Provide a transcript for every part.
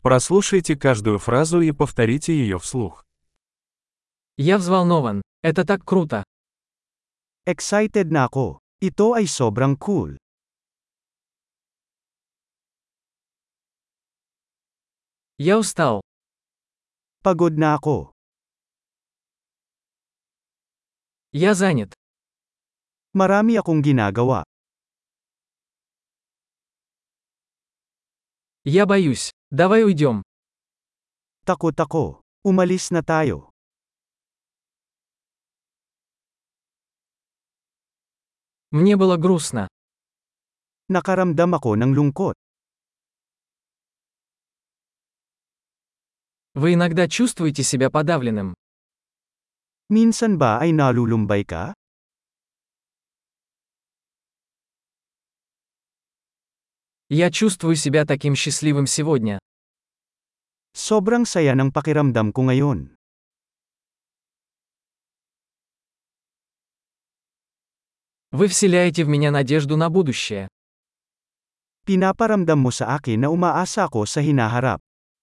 Прослушайте каждую фразу и повторите ее вслух. Я взволнован. Это так круто. Excited na ako. Ito ay sobrang cool. Я устал. Pagod na ako. Я занят. Marami akong ginagawa. Я боюсь. Давай уйдем. Takot ako. Umalis na tayo. Мне было грустно. Nakaramdam ako ng lungkot. Вы иногда чувствуете себя подавленным. Minsan ba ay nalulumbay ka? Я чувствую себя таким счастливым сегодня. Sobrang saya ng pakiramdam ko ngayon. Вы вселяете в меня надежду на будущее. Pinaparamdam mo sa akin na umaasa ako sa hinaharap.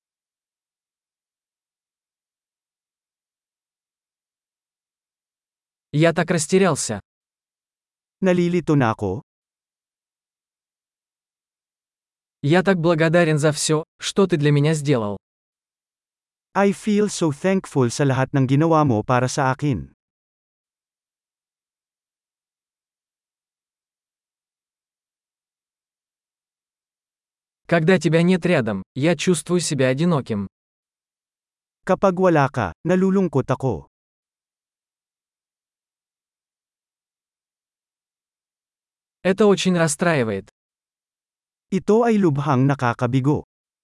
Я так растерялся. Nalilito na ako. Я так благодарен за все, что ты для меня сделал. I feel so thankful sa lahat ng ginawa mo para sa akin. Когда тебя нет рядом, я чувствую себя одиноким. Kapag wala ka, nalulungkot ako. Это очень расстраивает. Ito ay lubhang nakakabigo.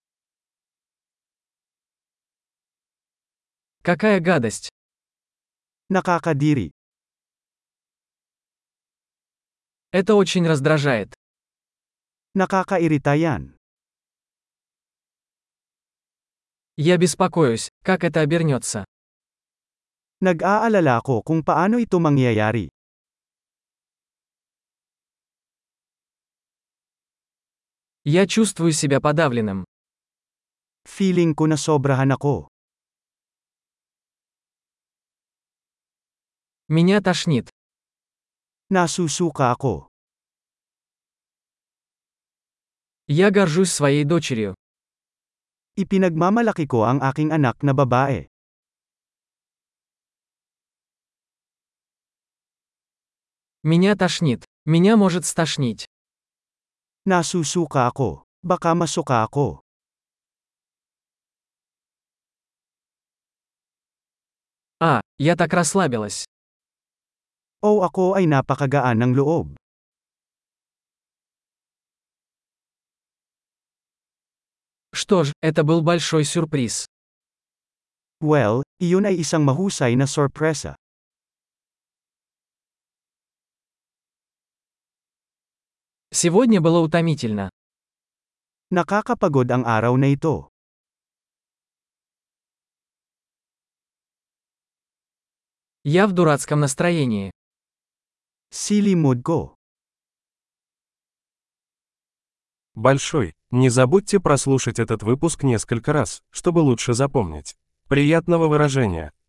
Какая гадость. Nakakadiri. Это очень раздражает. Nakakairita yan. Я беспокоюсь, как это обернется. Nag-aalala ako kung paano ito mangyayari. Я чувствую себя подавленным. Feeling ko na sobrahan ako. Меня тошнит. Nasusuka ako. Я горжусь своей дочерью. Ipinagmamalaki ko ang aking anak na babae. Меня тошнит. Меня может стошнить. Nasusuka ako. Baka masuka ako. Я так расслабилась. O ako ay napakagaan ng loob. Что ж, это был большой сюрприз. Well, iyon ay isang mahusay na sorpresa. Сегодня было утомительно. Nakakapagod ang araw na ito. Я в дурацком настроении. Silly mood ko. Большой. Не забудьте прослушать этот выпуск несколько раз, чтобы лучше запомнить. Приятного выражения!